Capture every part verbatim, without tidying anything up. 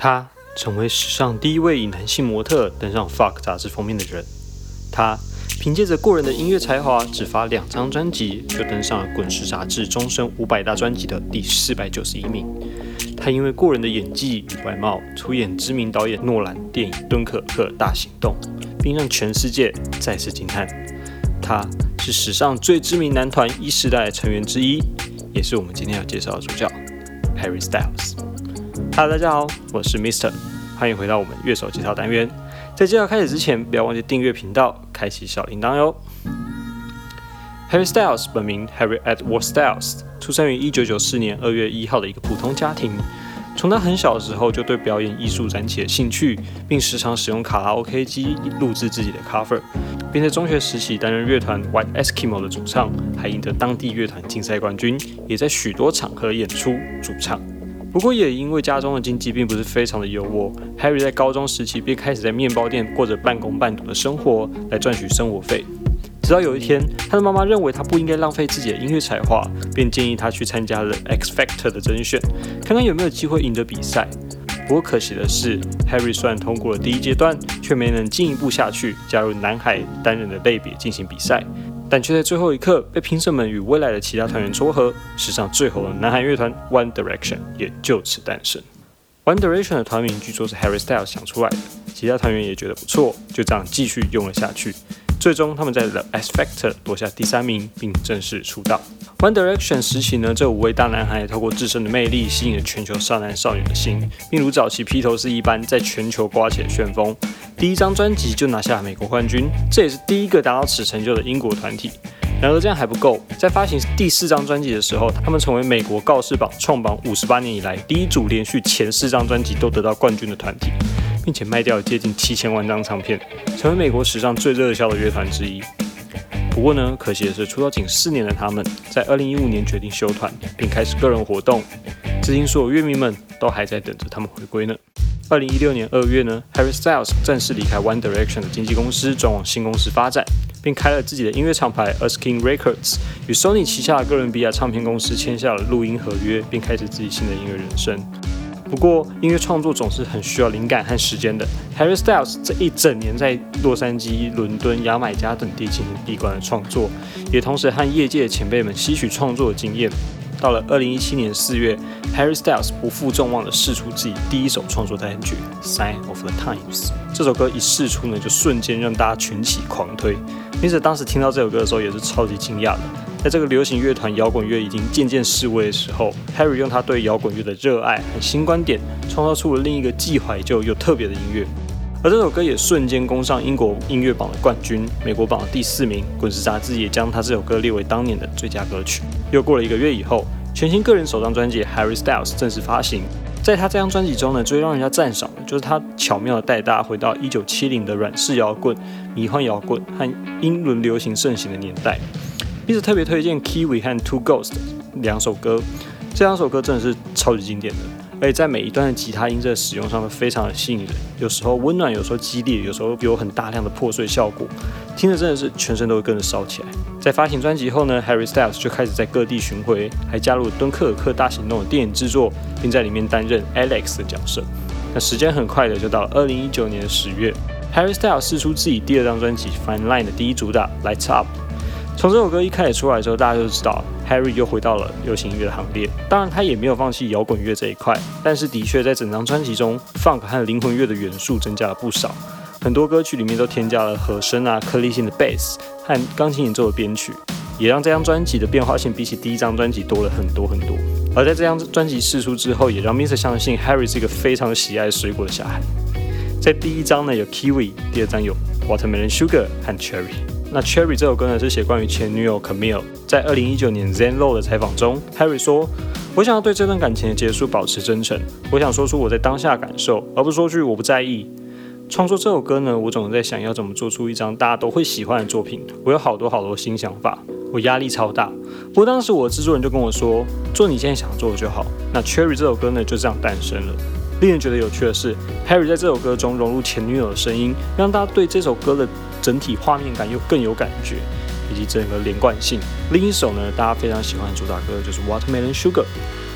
他成为史上第一位以男性模特登上 Vogue 杂志封面的人。他凭借着过人的音乐才华，只发两张专辑就登上了滚石杂志终身五百大专辑的第四百九十一名。他因为过人的演技与外貌，出演知名导演诺兰电影《敦刻尔克大行动》，并让全世界再次惊叹。他是史上最知名男团一世代成员之一，也是我们今天要介绍的主角 Harry Styles。Hello， 大家好，我是 Mister， 欢迎回到我们乐手介绍单元。在介绍开始之前，不要忘记订阅频道，开启小铃铛哟。Harry Styles 本名 Harry Edward Styles， 出生于一九九四年二月一号的一个普通家庭。从他很小的时候就对表演艺术燃起了兴趣，并时常使用卡拉 OK 机录制自己的 cover， 并在中学时期担任乐团 White Eskimo 的主唱，还赢得当地乐团竞赛冠军，也在许多场合演出主唱。不过也因为家中的经济并不是非常的优渥， Harry 在高中时期便开始在面包店过着半工半读的生活来赚取生活费。直到有一天，他的妈妈认为他不应该浪费自己的音乐才华，便建议他去参加了 X Factor 的甄选，看看有没有机会赢得比赛。不过可惜的是， Harry 虽然通过了第一阶段，却没能进一步下去加入男孩单人的类别进行比赛，但却在最后一刻被评审们与未来的其他团员撮合，史上最红的男孩乐团 One Direction 也就此诞生。One Direction 的团名据说是 Harry Styles 想出来的，其他团员也觉得不错，就这样继续用了下去。最终，他们在 The X Factor 夺下第三名，并正式出道。One Direction 时期呢，这五位大男孩透过自身的魅力，吸引了全球少男少女的心，并如早期披头士一般，在全球刮起了旋风。第一张专辑就拿下美国冠军，这也是第一个达到此成就的英国团体。然而这样还不够，在发行第四张专辑的时候，他们成为美国告示榜创榜五十八年以来第一组连续前四张专辑都得到冠军的团体，并且卖掉了接近七千万张唱片，成为美国史上最热销的乐团之一。不过呢，可惜的是，出道仅四年的他们，在二零一五年决定休团，并开始个人活动。至今，所有乐迷们都还在等着他们回归呢。二零一六年二月呢 ，Harry Styles 正式离开 One Direction 的经纪公司，转往新公司发展，并开了自己的音乐厂牌 Erskine Records， 与 Sony 旗下的哥伦比亚唱片公司签下了录音合约，并开始自己新的音乐人生。不过，音乐创作总是很需要灵感和时间的。Harry Styles 这一整年在洛杉矶、伦敦、牙买加等地进行闭关的创作，也同时和业界的前辈们吸取创作的经验。到了二零一七年四月 ，Harry Styles 不负众望地释出自己第一首创作单曲《Sign of the Times》。这首歌一释出呢，就瞬间让大家群起狂推。因此，当时听到这首歌的时候，也是超级惊讶的。在这个流行乐团摇滚乐已经渐渐式微的时候 ，Harry 用他对摇滚乐的热爱和新观点，创造出了另一个既怀旧又特别的音乐。而这首歌也瞬间攻上英国音乐榜的冠军，美国榜的第四名。滚石杂志也将他这首歌列为当年的最佳歌曲。又过了一个月以后，全新个人首张专辑《Harry Styles》正式发行。在他这张专辑中呢，最让人家赞赏的就是他巧妙地带大家回到一九七零的软式摇滚、迷幻摇滚和英伦流行盛行的年代。并且特别推荐 Kiwi 和 Two Ghost 两首歌，这两首歌真的是超级经典的，而且在每一段的吉他音在使用上都非常的吸引人，有时候温暖，有时候激烈，有时候有很大量的破碎效果，听着真的是全身都会跟着烧起来。在发行专辑后呢 ，Harry Styles 就开始在各地巡回，还加入了《敦刻尔克大行动》的电影制作，并在里面担任 Alex 的角色。那时间很快的就到了二零一九年十月 ，Harry Styles 释出自己第二张专辑《Fine Line》的第一主打《Lights Up》。从这首歌一开始出来之后，大家就知道 Harry 又回到了流行音乐的行列。当然，他也没有放弃摇滚乐这一块，但是的确在整张专辑中 ，Funk 和灵魂乐的元素增加了不少。很多歌曲里面都添加了和声啊、颗粒性的 bass 和钢琴演奏的编曲，也让这张专辑的变化性比起第一张专辑多了很多很多。而在这张专辑释出之后，也让 Mister 相信 Harry 是一个非常喜爱水果的小孩。在第一张呢有 Kiwi， 第二张有 Watermelon Sugar 和 Cherry。那 Cherry 这首歌呢是写关于前女友 Camille。在二零一九年 Zen Lo 的采访中 ，Harry 说：“我想要对这段感情的结束保持真诚，我想说出我在当下的感受，而不是说句我不在意。创作这首歌呢，我总是在想要怎么做出一张大家都会喜欢的作品。我有好多好多新想法，我压力超大。不过当时我的制作人就跟我说，做你现在想做的就好。那 Cherry 这首歌呢就这样诞生了。”令人觉得有趣的是 ，Harry 在这首歌中融入前女友的声音，让大家对这首歌的整体画面感又更有感觉，以及整个连贯性。另一首呢，大家非常喜欢的主打歌就是 Watermelon Sugar。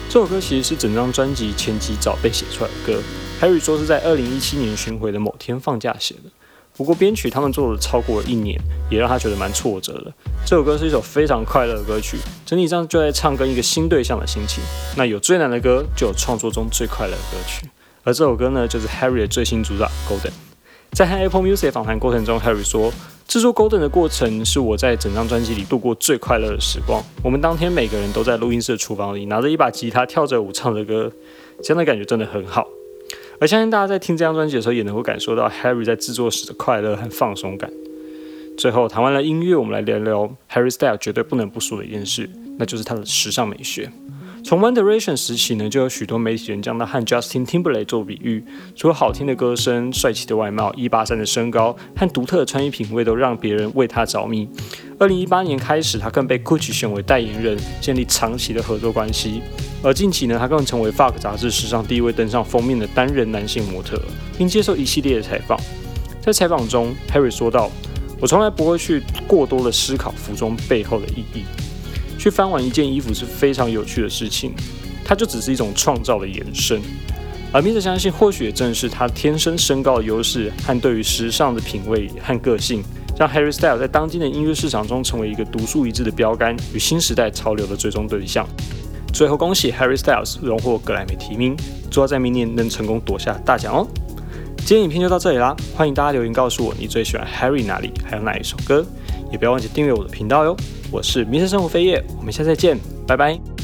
这首歌其实是整张专辑前几早被写出来的歌。Harry 说是在二零一七年巡回的某天放假写的，不过编曲他们做了超过了一年，也让他觉得蛮挫折的。这首歌是一首非常快乐的歌曲，整体上就在唱跟一个新对象的心情。那有最难的歌，就有创作中最快乐的歌曲。而这首歌呢，就是 Harry 的最新主打 Golden。在和 Apple Music 访谈过程中 ，Harry 说，制作 Golden 的过程是我在整张专辑里度过最快乐的时光。我们当天每个人都在录音室的厨房里，拿着一把吉他，跳着舞，唱着歌，这样的感觉真的很好。而相信大家在听这张专辑的时候，也能够感受到 Harry 在制作时的快乐和放松感。最后谈完了音乐，我们来聊聊 Harry Styles 绝对不能不说的一件事，那就是他的时尚美学。从 One Direction 时期呢，就有许多媒体人将他和 Justin Timberlake 做比喻，除了好听的歌声、帅气的外貌、一八三的身高和独特的穿衣品味，都让别人为他着迷。二零一八年开始，他更被 Gucci 选为代言人，建立长期的合作关系。而近期呢，他更成为 Vogue 杂志史上第一位登上封面的单人男性模特，并接受一系列的采访。在采访中 ，Harry 说道：“我从来不会去过多的思考服装背后的意义。去翻完一件衣服是非常有趣的事情，它就只是一种创造的延伸。而米者相信，或许也正是他天生身高的优势和对于时尚的品味和个性，让 Harry Styles 在当今的音乐市场中成为一个独树一帜的标杆与新时代潮流的最终对象。”最后，恭喜 Harry Styles 荣获格莱美提名，祝他在明年能成功夺下大奖哦。今天影片就到这里啦，欢迎大家留言告诉我你最喜欢 Harry 哪里，还有哪一首歌，也不要忘记订阅我的频道哟。我是迷失生活飞叶，我们下次再见，拜拜。